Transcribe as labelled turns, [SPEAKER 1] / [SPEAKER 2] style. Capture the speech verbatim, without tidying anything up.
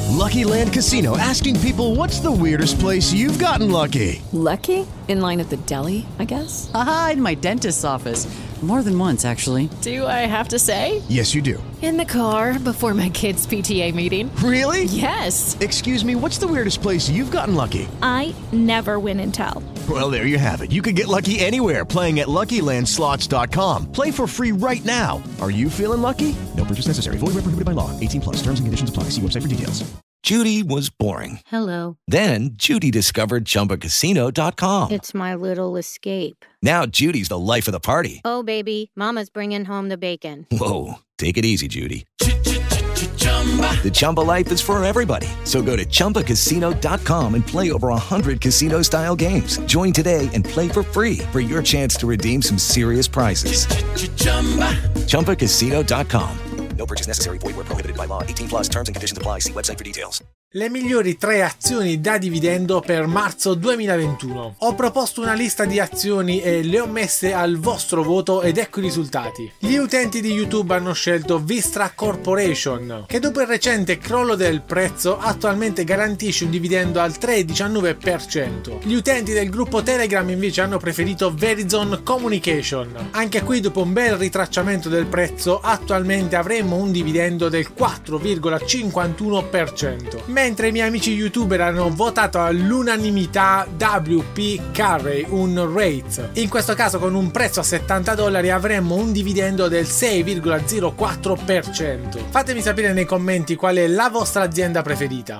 [SPEAKER 1] Lucky Land Casino, asking people, what's the weirdest place you've gotten lucky?
[SPEAKER 2] Lucky? In line at the deli, I guess?
[SPEAKER 3] Aha, in my dentist's office. More than once, actually.
[SPEAKER 2] Do I have to say?
[SPEAKER 1] Yes, you do.
[SPEAKER 2] In the car before my kids' P T A meeting.
[SPEAKER 1] Really?
[SPEAKER 2] Yes.
[SPEAKER 1] Excuse me, what's the weirdest place you've gotten lucky?
[SPEAKER 4] I never win and tell.
[SPEAKER 1] Well, there you have it. You can get lucky anywhere, playing at Lucky Land Slots dot com. Play for free right now. Are you feeling lucky? No purchase necessary. Void where prohibited by law. eighteen plus. Terms and conditions apply. See website for details.
[SPEAKER 5] Judy was boring.
[SPEAKER 6] Hello.
[SPEAKER 5] Then Judy discovered Chumba Casino dot com.
[SPEAKER 6] It's my little escape.
[SPEAKER 5] Now Judy's the life of the party.
[SPEAKER 6] Oh, baby, mama's bringing home the bacon.
[SPEAKER 5] Whoa, take it easy, Judy. The Chumba life is for everybody. So go to Chumba Casino dot com and play over one hundred casino-style games. Join today and play for free for your chance to redeem some serious prizes. Chumba Casino dot com. No purchase necessary. Void where prohibited by law. eighteen plus. Terms and conditions apply. See website for details.
[SPEAKER 7] Le migliori tre azioni da dividendo per marzo duemilaventuno. Ho proposto una lista di azioni e le ho messe al vostro voto ed ecco i risultati. Gli utenti di YouTube hanno scelto Vistra Corporation, che dopo il recente crollo del prezzo attualmente garantisce un dividendo al tre virgola diciannove per cento. Gli utenti del gruppo Telegram invece hanno preferito Verizon Communication. Anche qui dopo un bel ritracciamento del prezzo attualmente avremo un dividendo del quattro virgola cinquantuno per cento. Mentre i miei amici youtuber hanno votato all'unanimità W P Carey, un REIT. In questo caso con un prezzo a settanta dollari avremmo un dividendo del sei virgola zero quattro per cento. Fatemi sapere nei commenti qual è la vostra azienda preferita.